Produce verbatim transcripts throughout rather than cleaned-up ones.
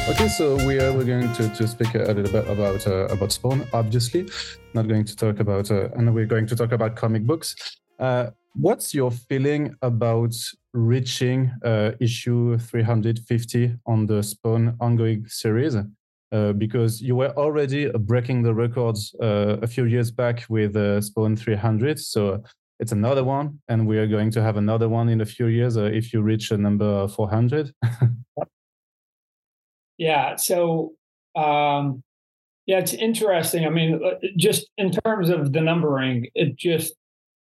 Okay, so we are we're going to, to speak a little bit about uh, about Spawn. Obviously, not going to talk about, uh, and we're going to talk about comic books. Uh, what's your feeling about reaching uh, issue three hundred fifty on the Spawn ongoing series? Uh, because you were already breaking the records uh, a few years back with uh, Spawn three hundred, so it's another one, and we are going to have another one in a few years uh, if you reach a number four hundred. Yeah. So, um, yeah, it's interesting. I mean, just in terms of the numbering, it just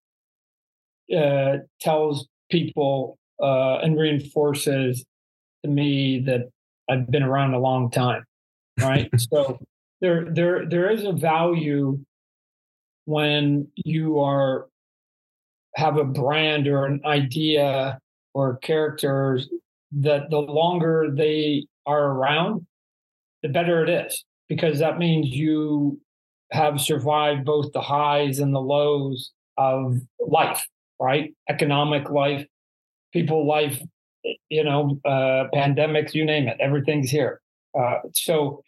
uh, tells people uh, and reinforces to me that I've been around a long time, right? So there, there, there is a value when you are have a brand or an idea or characters that the longer they are around, the better it is, because that means you have survived both the highs and the lows of life, right? Economic life, people life, you know, uh, pandemics, you name it, everything's here. Uh, so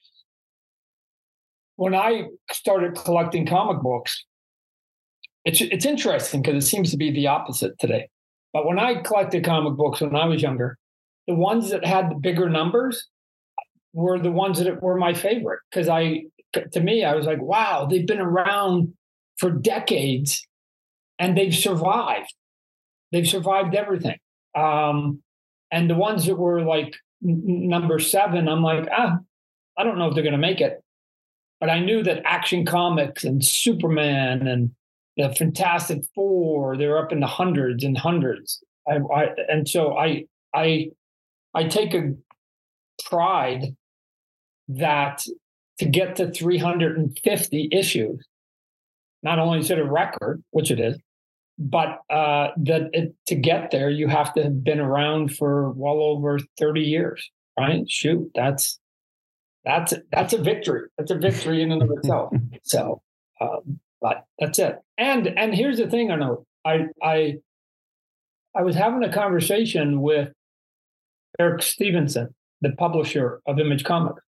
when I started collecting comic books, it's it's interesting because it seems to be the opposite today. But when I collected comic books when I was younger, the ones that had the bigger numbers were the ones that were my favorite, because I, to me, I was like, wow, they've been around for decades and they've survived. They've survived everything. Um, and the ones that were like n- number seven, I'm like, ah, I don't know if they're going to make it. But I knew that Action Comics and Superman and the Fantastic Four, they're up in the hundreds and hundreds. I, I, and so I, I, I take a pride that to get to three hundred fifty issues, not only is it a record, which it is, but uh, that it, to get there, you have to have been around for well over thirty years, right? Shoot, that's that's that's a victory. That's a victory in and of itself. So, um, but that's it. And and here's the thing, I know I I I was having a conversation with Eric Stevenson, the publisher of Image Comics.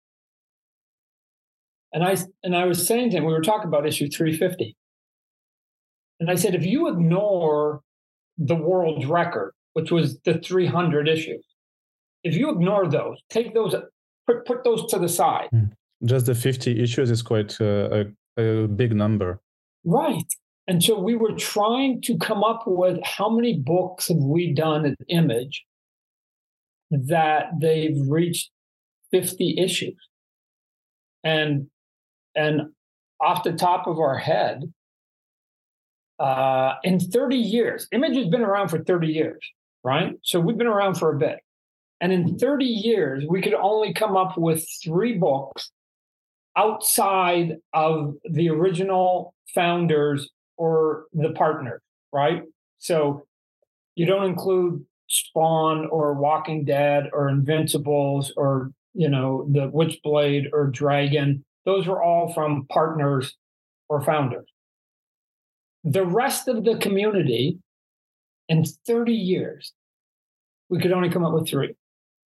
And I and I was saying to him, we were talking about issue three fifty. And I said, if you ignore the world's record, which was the three hundred issues, if you ignore those, take those, put, put those to the side. Just the fifty issues is quite uh, a, a big number. Right. And so we were trying to come up with how many books have we done at Image that they've reached fifty issues. And And off the top of our head, uh, in thirty years, Image has been around for thirty years, right? So we've been around for a bit. And in thirty years, we could only come up with three books outside of the original founders or the partners, right? So you don't include Spawn or Walking Dead or Invincibles or, you know, the Witchblade or Dragon. Those were all from partners or founders. The rest of the community, in thirty years, we could only come up with three.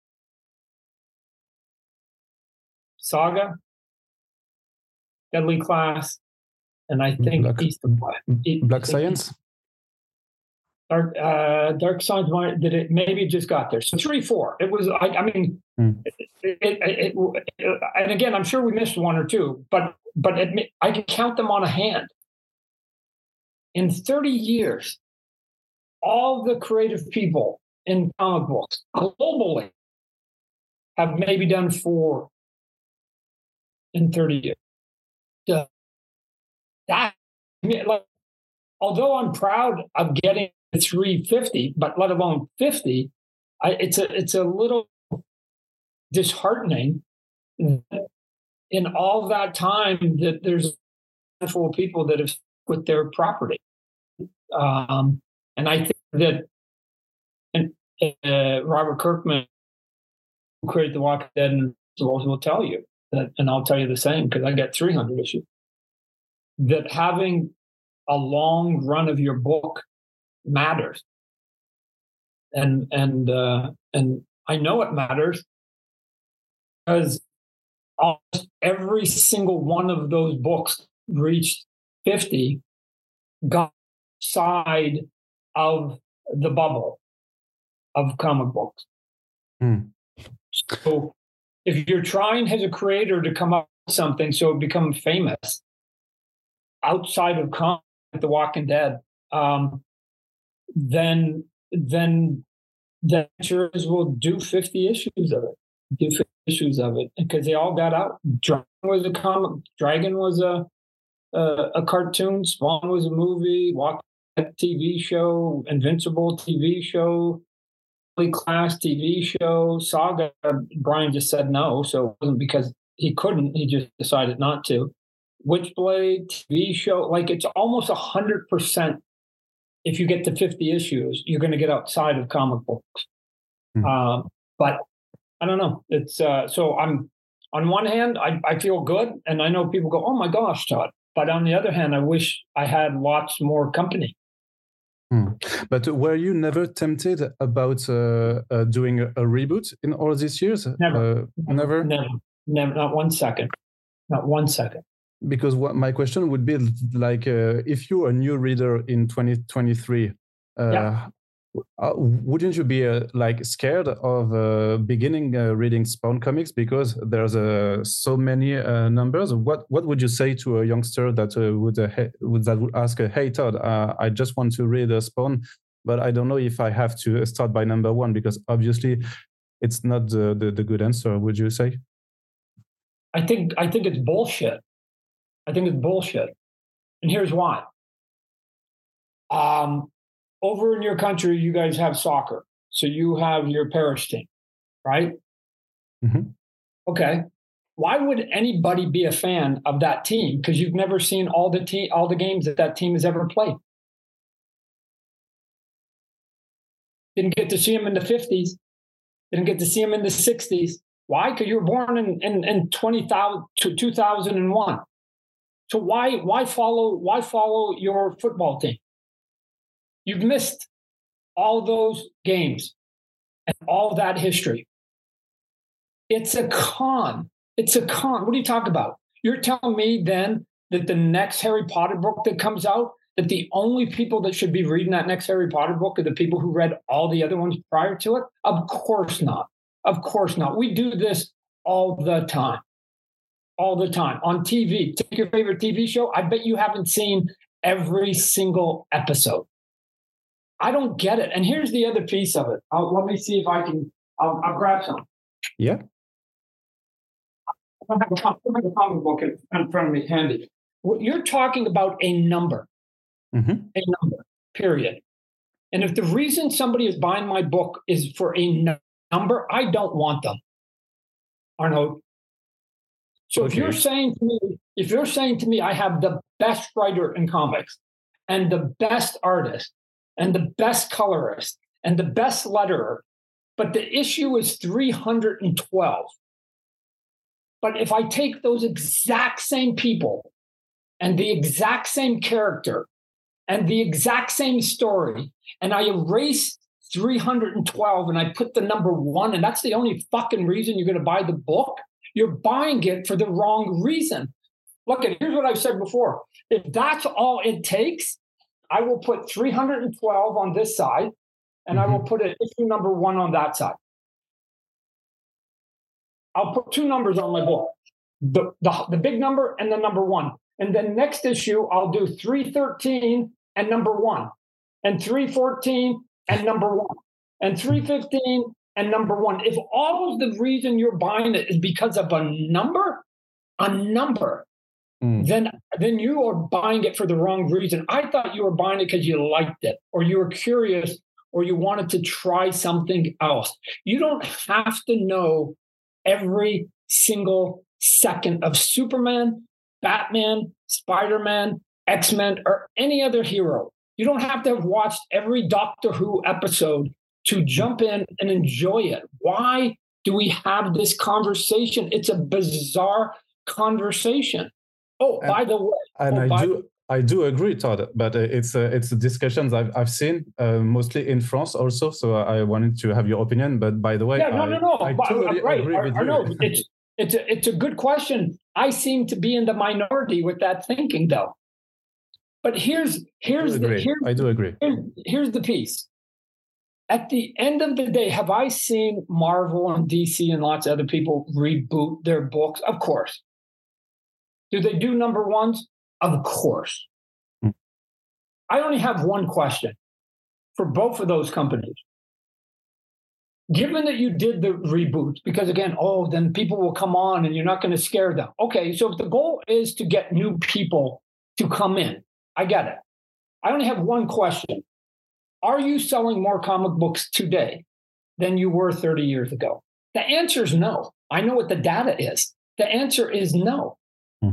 Saga, Deadly Class, and I think Black, East of Black. Black Science? Dark, uh, Dark Science, did it? Maybe it just got there. So three, four. It was, I, I mean, mm. it, it, it, it, and again, I'm sure we missed one or two, but but it, I can count them on a hand. In thirty years, all the creative people in comic books globally have maybe done four in thirty years. So that, I mean, like, although I'm proud of getting three fifty, but let alone fifty, I, it's a it's a little disheartening in all that time that there's a handful of people that have with their property. Um, and I think that and uh, Robert Kirkman, who created The Walking Dead, and will tell you that, and I'll tell you the same because I got three hundred issues, that having a long run of your book matters. And and uh, and I know it matters because almost every single one of those books reached fifty, got side of the bubble of comic books. Hmm. So if you're trying as a creator to come up with something so it become famous outside of comic, The Walking Dead, um, then then the answer is we'll do fifty issues of it. Do fifty issues of it because they all got out. Dragon was a comic. Dragon was a a, a cartoon. Spawn was a movie. Walking Dead T V show. Invincible T V show. Class T V show. Saga. Brian just said no, so it wasn't because he couldn't. He just decided not to. Witchblade T V show. Like it's almost a hundred percent. If you get to fifty issues, you're going to get outside of comic books. Mm-hmm. Um, but I don't know. It's uh, so I'm on one hand, I, I feel good, and I know people go, "Oh my gosh, Todd." But on the other hand, I wish I had lots more company. Hmm. But were you never tempted about uh, uh, doing a, a reboot in all these years? Never, uh, never, never, never, not one second, not one second. Because what my question would be like, uh, if you're a new reader in twenty twenty-three, uh, yeah. uh, wouldn't you be uh, like scared of uh, beginning uh, reading Spawn comics because there's uh, so many uh, numbers? What what would you say to a youngster that uh, would uh, he- would that would ask, uh, "Hey Todd, uh, I just want to read uh, Spawn, but I don't know if I have to start by number one because obviously it's not the, the, the good answer." Would you say? I think I think it's bullshit. I think it's bullshit. And here's why. Um, over in your country, you guys have soccer. So you have your parish team, right? Mm-hmm. Okay. Why would anybody be a fan of that team? Because you've never seen all the te- all the games that that team has ever played. Didn't get to see them in the fifties. Didn't get to see them in the sixties. Why? Because you were born in, in, in twenty thousand to two thousand one. So why why follow why follow your football team? You've missed all those games and all that history. It's a con. It's a con. What are you talking about? You're telling me then that the next Harry Potter book that comes out, that the only people that should be reading that next Harry Potter book are the people who read all the other ones prior to it? Of course not. Of course not. We do this all the time. All the time on T V. Take your favorite T V show. I bet you haven't seen every single episode. I don't get it. And here's the other piece of it. I'll, let me see if I can. I'll, I'll grab some. Yeah. I have a comic book in front of me, handy. You're talking about a number. Mm-hmm. A number. Period. And if the reason somebody is buying my book is for a number, I don't want them. Arnaud. So okay. if you're saying to me, if you're saying to me, I have the best writer in comics and the best artist and the best colorist and the best letterer, but the issue is three hundred twelve. But if I take those exact same people and the exact same character and the exact same story, and I erase three hundred twelve and I put the number one, and that's the only fucking reason you're going to buy the book, you're buying it for the wrong reason. Look, at here's what I've said before. If that's all it takes, I will put three hundred twelve on this side, and mm-hmm. I will put an issue number one on that side. I'll put two numbers on my book, the, the, the big number and the number one. And then next issue, I'll do three thirteen and number one, and three fourteen and number one, and three fifteen and number one. If all of the reason you're buying it is because of a number, a number, mm. then, then you are buying it for the wrong reason. I thought you were buying it because you liked it, or you were curious, or you wanted to try something else. You don't have to know every single second of Superman, Batman, Spider-Man, X-Men, or any other hero. You don't have to have watched every Doctor Who episode to jump in and enjoy it. Why do we have this conversation? It's a bizarre conversation. Oh, and, by the way. And oh, I do I do agree, Todd, but it's uh, it's discussions I've I've seen uh, mostly in France also. So I wanted to have your opinion. But by the way, yeah, no, I, no, no. I but, totally right. agree I, with I you. know it's it's a, it's a good question. I seem to be in the minority with that thinking, though. But here's here's I do the agree. here's, I do agree. Here's, here's the piece. At the end of the day, have I seen Marvel and D C and lots of other people reboot their books? Of course. Do they do number ones? Of course. Hmm. I only have one question for both of those companies. Given that you did the reboots, because again, oh, then people will come on and you're not going to scare them. Okay, so if the goal is to get new people to come in, I get it. I only have one question. Are you selling more comic books today than you were thirty years ago? The answer is no. I know what the data is. The answer is no. Hmm.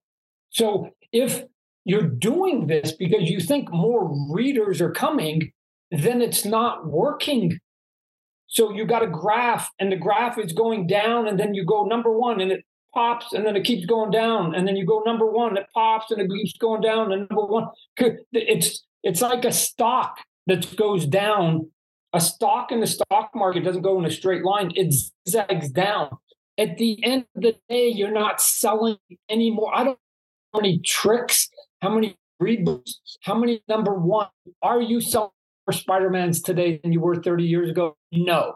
So if you're doing this because you think more readers are coming, then it's not working. So you got a graph and the graph is going down and then you go number one and it pops and then it keeps going down. And then you go number one, it pops and it keeps going down and number one. It's, it's like a stock that goes down. A stock in the stock market doesn't go in a straight line. It zags down. At the end of the day, you're not selling anymore. I don't know how many tricks, how many reboots, how many number one are you selling more Spider-Mans today than you were thirty years ago? No.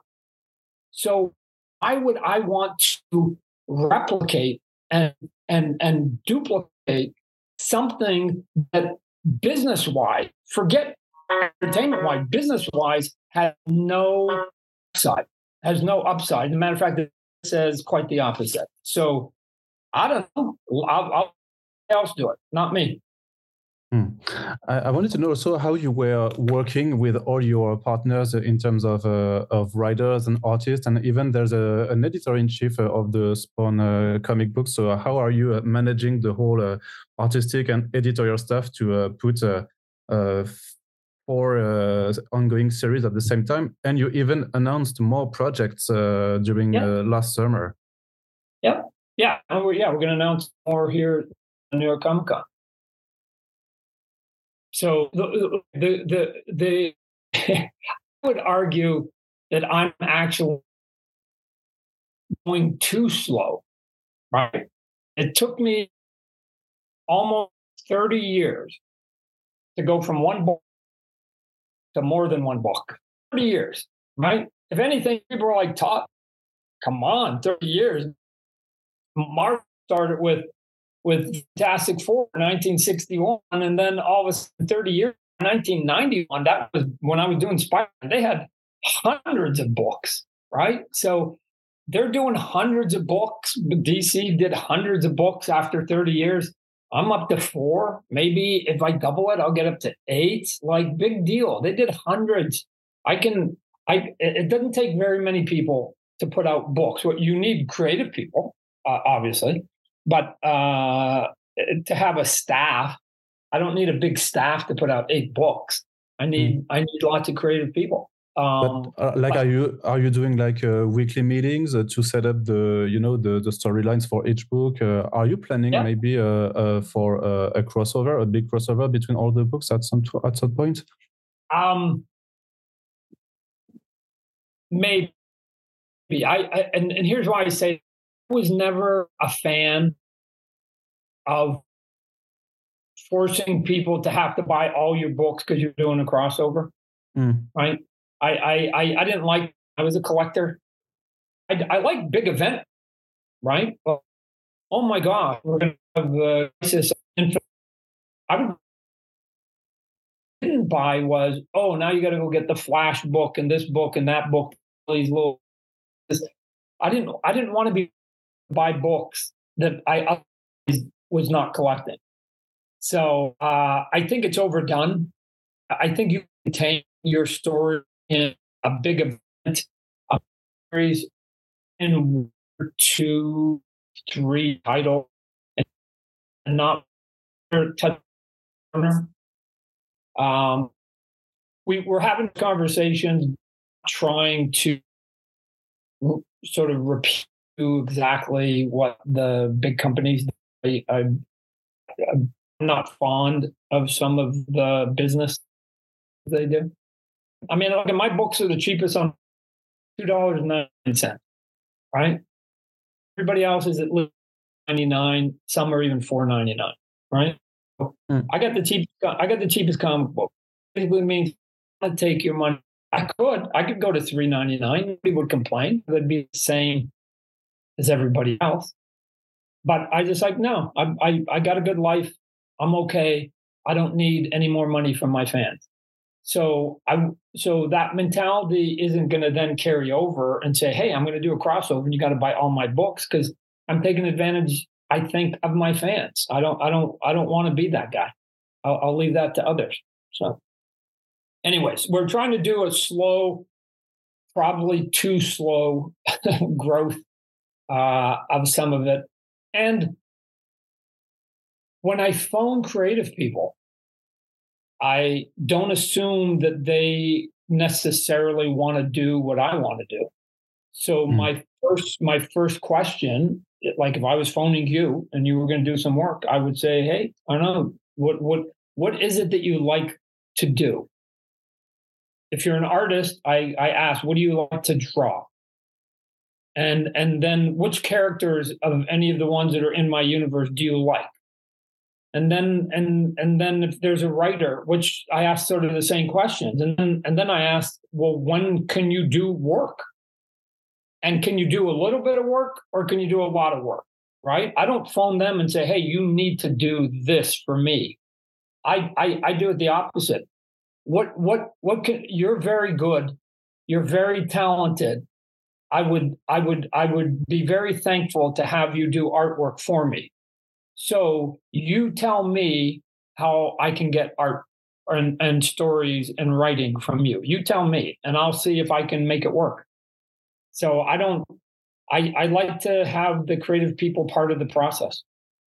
So I would, I want to replicate and, and, and duplicate something that business-wise, forget entertainment-wise, business-wise, has no upside, has no upside. As a matter of fact, it says quite the opposite. So I don't know. I'll, I'll else do it, not me. Hmm. I, I wanted to know also how you were working with all your partners in terms of uh, of writers and artists, and even there's a, an editor-in-chief of the Spawn uh, comic books. So how are you managing the whole uh, artistic and editorial stuff to uh, put uh, uh, four uh, ongoing series at the same time? And you even announced more projects uh, during yep. uh, last summer. Yep. Yeah. And we're, yeah, we're going to announce more here at New York Comic Con. So the the the, the I would argue that I'm actually going too slow, right? It took me almost thirty years to go from one book to more than one book. thirty years, right? If anything, people are like, Todd, come on, thirty years. Mark started with with Fantastic Four in nineteen sixty-one, and then all of a sudden, thirty years, nineteen ninety-one, that was when I was doing Spider-Man. They had hundreds of books, right? So they're doing hundreds of books. D C did hundreds of books after thirty years. I'm up to four. Maybe if I double it, I'll get up to eight. Like, big deal. They did hundreds. I can, I, it doesn't take very many people to put out books. What you need creative people, uh, obviously. But uh, to have a staff, I don't need a big staff to put out eight books. I need mm. I need lots of creative people. Um, but, uh, like, but, are you are you doing like uh, weekly meetings uh, to set up the you know the the storylines for each book? Uh, are you planning yeah. maybe uh, uh, for uh, a crossover, a big crossover between all the books at some at some point? Um, maybe. I, I and and here's why I say. I was never a fan of forcing people to have to buy all your books because you're doing a crossover, mm. right? I, I I I didn't like. I was a collector. I, I like big event, right? Well, oh my God, we're going to have the Crisis. I didn't buy was oh now you got to go get the Flash book and this book and that book. These little. I didn't. I didn't want to be. Buy books that I was not collecting. So uh, I think it's overdone. I think you contain your story in a big event, a series in two, three titles, and not touch. Um, we were having conversations, trying to sort of repeat exactly what the big companies. I, I, I'm not fond of some of the business they do. I mean, look, my books are the cheapest on two dollars and nine cents, right? Everybody else is at least ninety-nine. Some are even four ninety-nine. Right? Mm. I got the cheapest. I got the cheapest comic book. Basically means I'd take your money. I could. I could go to three ninety-nine. Nobody would complain. It would be the same as everybody else. But I just like, no, I, I, I got a good life. I'm okay. I don't need any more money from my fans. So I, so that mentality isn't going to then carry over and say, hey, I'm going to do a crossover and you got to buy all my books, because I'm taking advantage, I think, of my fans. I don't, I don't, I don't want to be that guy. I'll, I'll leave that to others. So anyways, we're trying to do a slow, probably too slow growth uh, of some of it. And when I phone creative people, I don't assume that they necessarily want to do what I want to do. So mm. my first my first question, like if I was phoning you and you were going to do some work, I would say, hey, I don't know, what what what is it that you like to do? If you're an artist, I, I ask, what do you like to draw? And and then which characters of any of the ones that are in my universe do you like? And then and and then if there's a writer, which I ask sort of the same questions. And then and then I ask, well, when can you do work? And can you do a little bit of work or can you do a lot of work? Right? I don't phone them and say, hey, you need to do this for me. I I, I do it the opposite. What what what can you're very good, you're very talented. I would, I would, I would be very thankful to have you do artwork for me. So you tell me how I can get art and, and stories and writing from you. You tell me, and I'll see if I can make it work. So I don't, I, I like to have the creative people part of the process.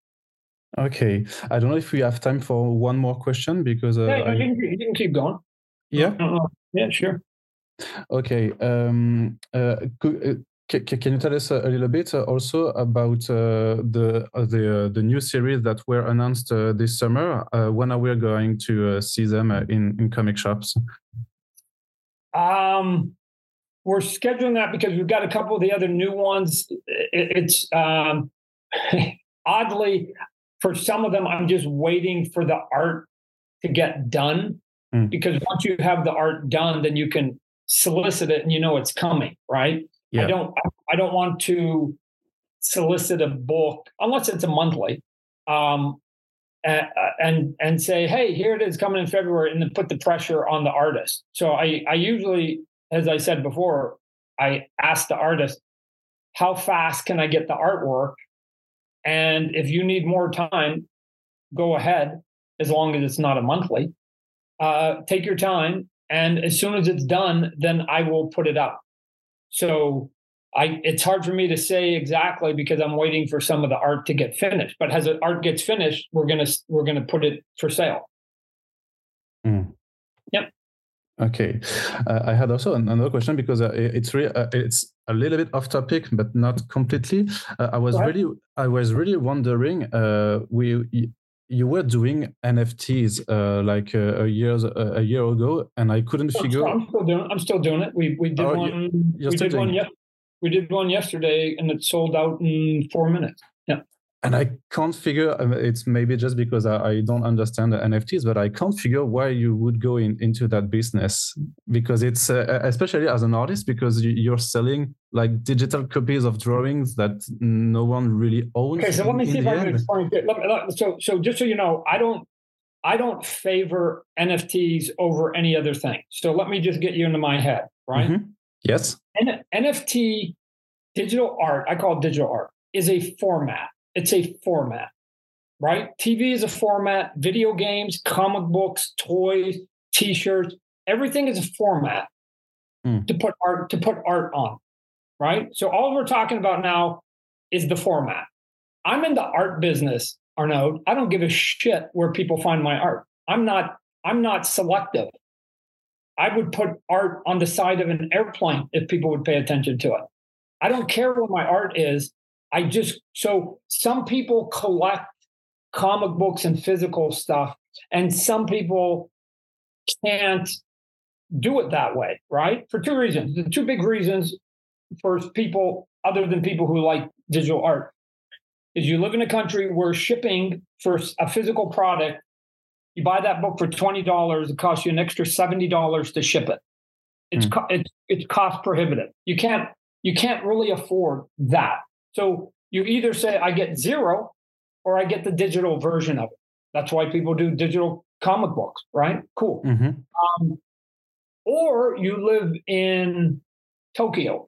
Okay. I don't know if we have time for one more question because uh, yeah, I... you, can, you can keep going. Yeah. Uh, yeah, sure. Okay. Um, uh, could, uh, c- can you tell us a, a little bit uh, also about uh, the uh, the uh, the new series that were announced uh, this summer? Uh, when are we going to uh, see them uh, in in comic shops? Um, we're scheduling that because we've got a couple of the other new ones. It, it's um, oddly, for some of them, I'm just waiting for the art to get done. Mm. Because once you have the art done, then you can solicit it and you know it's coming, right? Yeah. I don't I don't want to solicit a book unless it's a monthly, um, and, and and say, hey, here it is coming in February, and then put the pressure on the artist. So I I usually, as I said before, I ask the artist, how fast can I get the artwork? And if you need more time, go ahead, as long as it's not a monthly. Uh, take your time. And as soon as it's done, then I will put it out. So I, it's hard for me to say exactly because I'm waiting for some of the art to get finished. But as the art gets finished, we're gonna we're gonna put it for sale. Mm. Yep. Okay. Uh, I had also another question because uh, it's really uh, it's a little bit off topic, but not completely. Uh, I was really I was really wondering. Uh, we. You were doing N F Ts uh, like uh, a years uh, a year ago, and I couldn't I'm figure. Still, I'm still doing. I'm still doing it. We we did oh, one. We did one. Yep. We did one yesterday, and it sold out in four minutes. Yeah. And I can't figure. It's maybe just because I, I don't understand the N F Ts, but I can't figure why you would go in, into that business, because it's uh, especially as an artist, because you're selling like digital copies of drawings that no one really owns. Okay, so let me in, see in if I can explain it. Let, let, so, so just so you know, I don't, I don't favor N F Ts over any other thing. So let me just get you into my head, right? Mm-hmm. Yes. N- NFT, digital art, I call it digital art, is a format. It's a format, right? T V is a format. Video games, comic books, toys, T-shirts, everything is a format mm. to put art to put art on. Right? So all we're talking about now is the format. I'm in the art business, Arnaud. I don't give a shit where people find my art. I'm not, I'm not selective. I would put art on the side of an airplane if people would pay attention to it. I don't care where my art is. I just, so some people collect comic books and physical stuff, and some people can't do it that way, right? For two reasons. The two big reasons. First, people other than people who like digital art, is you live in a country where shipping for a physical product, you buy that book for twenty dollars, it costs you an extra seventy dollars to ship it. It's mm. it's it's cost prohibitive. You can't you can't really afford that. So you either say I get zero or I get the digital version of it. That's why people do digital comic books, right? Cool. Mm-hmm. Um, or you live in Tokyo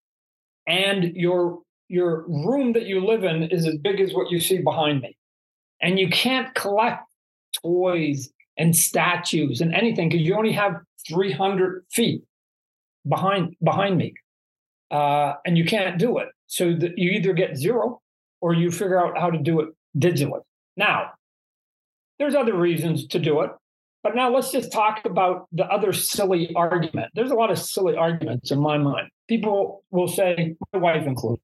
and your your room that you live in is as big as what you see behind me. And you can't collect toys and statues and anything because you only have three hundred feet behind behind me. Uh, and you can't do it. So that you either get zero or you figure out how to do it digitally. Now, there's other reasons to do it. But now let's just talk about the other silly argument. There's a lot of silly arguments in my mind. People will say, my wife included,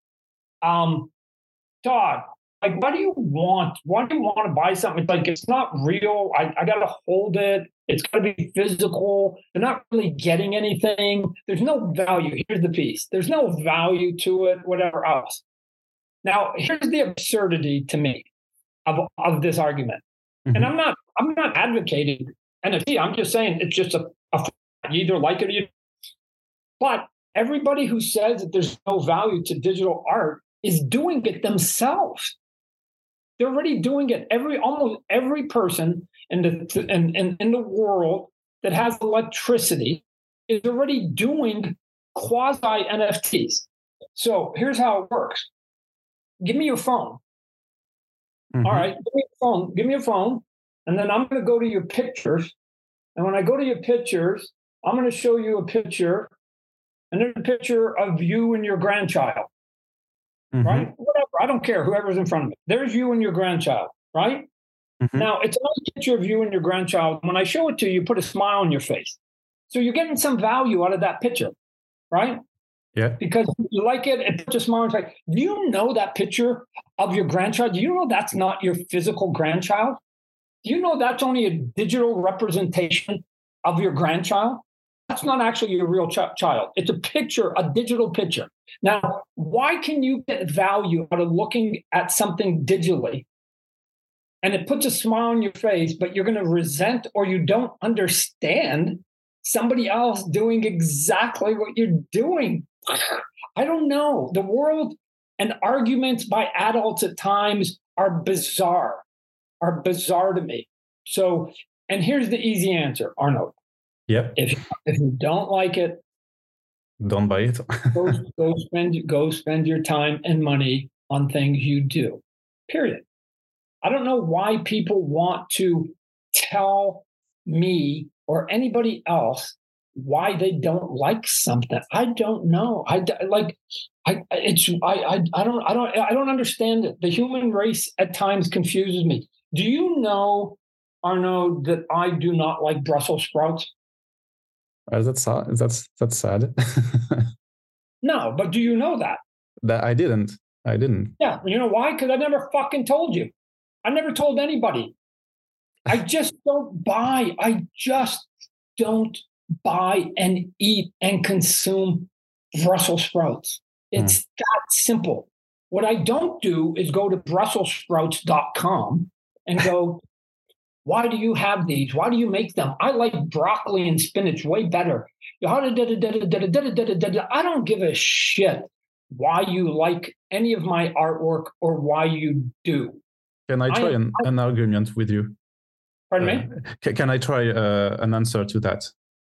um, Todd, like, why do you want, why do you want to buy something? It's like, it's not real. I, I got to hold it. It's got to be physical. They're not really getting anything. There's no value. Here's the piece. There's no value to it, whatever else. Now, here's the absurdity to me of, of this argument. Mm-hmm. And I'm not, I'm not advocating N F T. I'm just saying it's just a, a you either like it or you. But everybody who says that there's no value to digital art is doing it themselves. They're already doing it. Every almost every person in the in, in, in the world that has electricity is already doing quasi N F Ts. So here's how it works. Give me your phone. Mm-hmm. All right, give me your phone. Give me your phone. And then I'm going to go to your pictures. And when I go to your pictures, I'm going to show you a picture. And there's a picture of you and your grandchild. Mm-hmm. Right? Whatever. I don't care. Whoever's in front of me. There's you and your grandchild. Right? Mm-hmm. Now, it's another picture of you and your grandchild. When I show it to you, you put a smile on your face. So you're getting some value out of that picture. Right? Yeah. Because you like it, it puts a smile on your face. Do you know that picture of your grandchild? Do you know that's not your physical grandchild? Do you know that's only a digital representation of your grandchild? That's not actually your real ch- child. It's a picture, a digital picture. Now, why can you get value out of looking at something digitally and it puts a smile on your face, but you're going to resent or you don't understand somebody else doing exactly what you're doing? I don't know. The world and arguments by adults at times are bizarre, are bizarre to me. So, and here's the easy answer, Arnold. Yep. If if you don't like it, don't buy it. go, go spend go spend your time and money on things you do. Period. I don't know why people want to tell me or anybody else why they don't like something. I don't know. I like. I it's. I. I. I don't. I don't. I don't understand it. The human race at times confuses me. Do you know, Arnaud, that I do not like Brussels sprouts? Uh, that's sad. That's that's sad. No, but do you know that? That I didn't. I didn't. Yeah, you know why? Because I never fucking told you. I never told anybody. I just don't buy. I just don't buy and eat and consume Brussels sprouts. It's mm. that simple. What I don't do is go to brussels sprouts dot com and go, why do you have these? Why do you make them? I like broccoli and spinach way better. I don't give a shit why you like any of my artwork or why you do. Can I try I, an, I, an argument with you? Pardon uh, me? Can, can I try uh, an answer to that?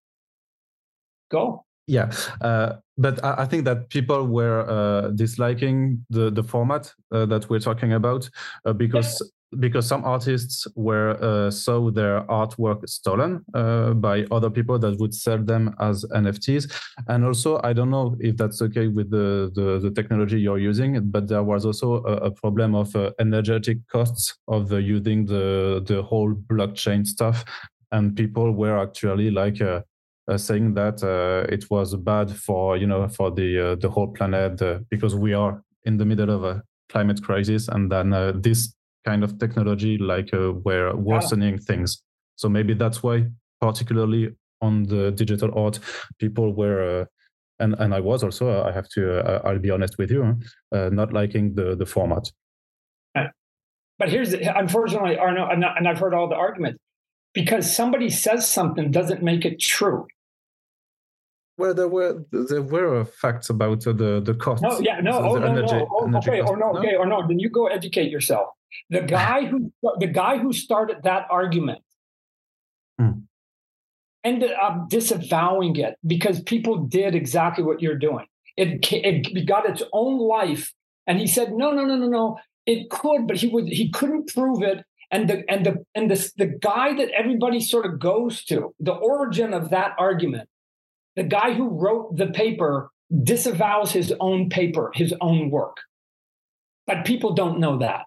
Go. Yeah, uh, but I, I think that people were uh, disliking the, the format uh, that we're talking about uh, because yeah. because some artists were uh, saw their artwork stolen uh, by other people that would sell them as N F Ts. And also, I don't know if that's okay with the, the, the technology you're using, but there was also a, a problem of uh, energetic costs of the, using the, the whole blockchain stuff. And people were actually like... Uh, Uh, saying that uh, it was bad for you know for the uh, the whole planet uh, because we are in the middle of a climate crisis, and then uh, this kind of technology like uh, were worsening yeah. things. So maybe that's why, particularly on the digital art, people were uh, and and I was also, I have to, uh, I'll be honest with you, uh, not liking the the format. But here's the, unfortunately, Arno, and I've heard all the arguments, because somebody says something doesn't make it true. Well, there were there were facts about uh, the the costs. No, yeah, no, oh, no, energy, no, oh, okay, or no, okay, or no. Then you go educate yourself. The guy who the guy who started that argument hmm. ended up disavowing it because people did exactly what you're doing. It it got its own life, and he said, no, no, no, no, no. It could, but he would he couldn't prove it. And the and the and the the guy that everybody sort of goes to, the origin of that argument. The guy who wrote the paper disavows his own paper, his own work. But people don't know that.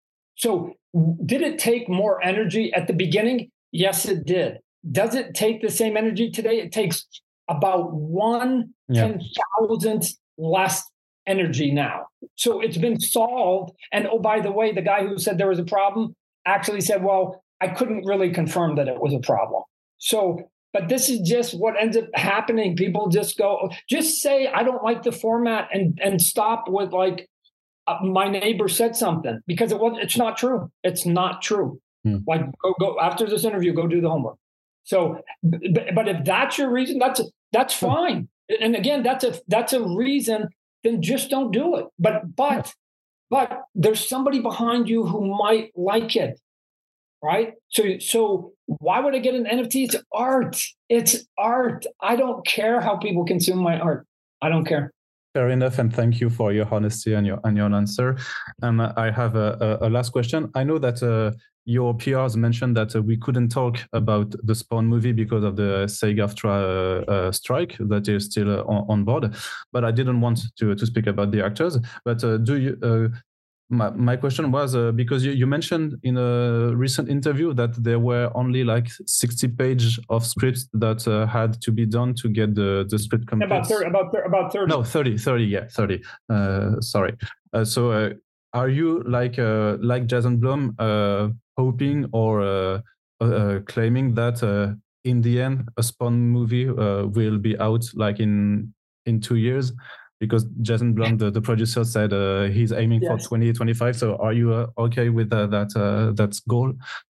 So did it take more energy at the beginning? Yes, it did. Does it take the same energy today? It takes about one yeah. ten thousandth less energy now. So it's been solved. And oh, by the way, the guy who said there was a problem actually said, well, I couldn't really confirm that it was a problem. So But this is just what ends up happening. People just go, just say, I don't like the format and, and stop with like, uh, my neighbor said something, because it was, it's not true. It's not true. Hmm. Like go, go after this interview, go do the homework. So, but, but if that's your reason, that's, that's fine. And again, that's a, that's a reason, then just don't do it. But, but, but there's somebody behind you who might like it. Right. So, so why would I get an N F T? It's art. It's art. I don't care how people consume my art. I don't care. Fair enough. And thank you for your honesty and your, and your answer. And um, I have a, a, a last question. I know that uh, your P Rs mentioned that uh, we couldn't talk about the Spawn movie because of the SAG-AFTRA uh, uh, strike that is still uh, on, on board. But I didn't want to, to speak about the actors. But uh, do you... Uh, My, my question was, uh, because you, you mentioned in a recent interview that there were only like sixty pages of scripts that uh, had to be done to get the, the script complete. About thirty, about, about thirty. No, thirty, thirty, yeah, thirty. Uh, sorry. Uh, so uh, are you like uh, like Jason Blum uh, hoping or uh, uh, claiming that uh, in the end a Spawn movie uh, will be out like in in two years? Because Jason Blum, the, the producer, said uh, he's aiming yes. for twenty twenty-five. So are you uh, okay with uh, that uh, that goal?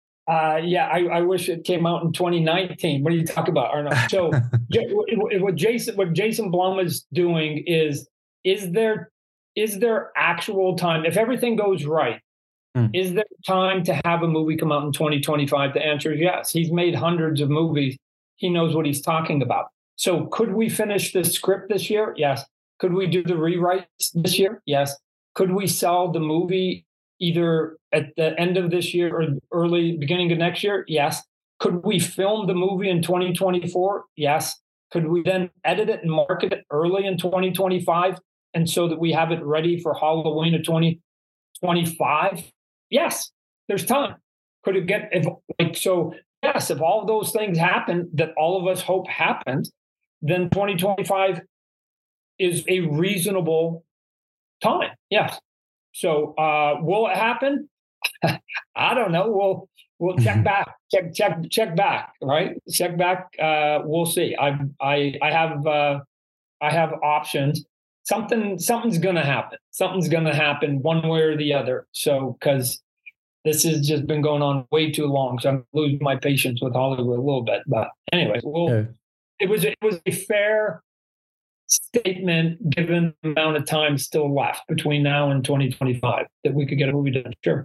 Uh, yeah, I, I wish it came out in twenty nineteen. What are you talking about, Arno? So what Jason what Jason Blum is doing is is there is there actual time, if everything goes right, mm. is there time to have a movie come out in twenty twenty-five? The answer is yes. He's made hundreds of movies. He knows what he's talking about. So could we finish the script this year? Yes. Could we do the rewrites this year? Yes. Could we sell the movie either at the end of this year or early beginning of next year? Yes. Could we film the movie in twenty twenty-four? Yes. Could we then edit it and market it early in twenty twenty-five and so that we have it ready for Halloween of twenty twenty-five? Yes. There's time. Could it get if like so? Yes. If all of those things happen that all of us hope happens, then twenty twenty-five is a reasonable time. Yes. So uh, will it happen? I don't know. We'll we'll check back. Check check check back. Right. Check back. Uh, we'll see. I I I have uh, I have options. Something something's gonna happen. Something's gonna happen one way or the other. So because this has just been going on way too long, so I'm losing my patience with Hollywood a little bit. But anyway, we'll, yeah. it was it was a fair statement given the amount of time still left between now and twenty twenty-five that we could get a movie done. Sure.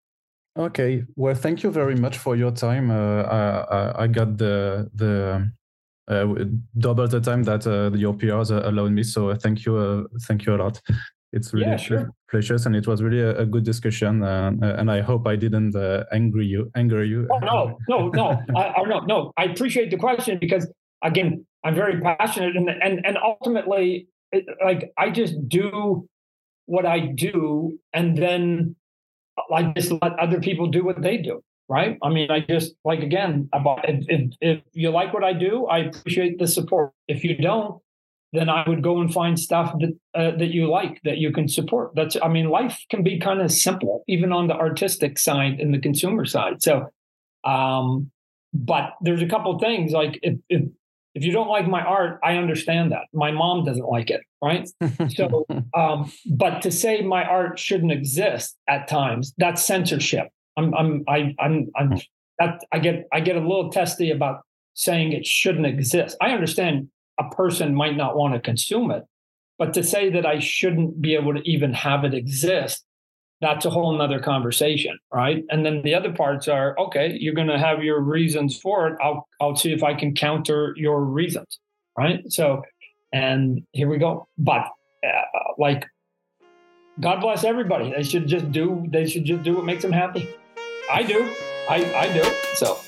Okay. Well, thank you very much for your time. Uh, I, I got the the uh, double the time that uh, your P Rs allowed me. So thank you. Uh, thank you a lot. It's really yeah, sure. precious, and it was really a, a good discussion. Uh, and I hope I didn't uh, angry you. Anger you. Oh no, no, no. I, I no, no. I appreciate the question because again, I'm very passionate, and and and ultimately, it, like I just do what I do, and then I just let other people do what they do. Right? I mean, I just like again, about if, if if you like what I do, I appreciate the support. If you don't, then I would go and find stuff that uh, that you like, that you can support. That's I mean, life can be kind of simple, even on the artistic side and the consumer side. So, um, but there's a couple of things like if if If you don't like my art, I understand that. My mom doesn't like it, right? So, um, but to say my art shouldn't exist at times, that's censorship. I'm, I'm, I, I'm, I'm. That I get, I get a little testy about saying it shouldn't exist. I understand a person might not want to consume it, but to say that I shouldn't be able to even have it exist, that's a whole nother conversation, right? And then the other parts are, okay, you're going to have your reasons for it. I'll, I'll see if I can counter your reasons, right? So, and here we go. But uh, like, God bless everybody. They should just do, they should just do what makes them happy. I do. I, I do. So.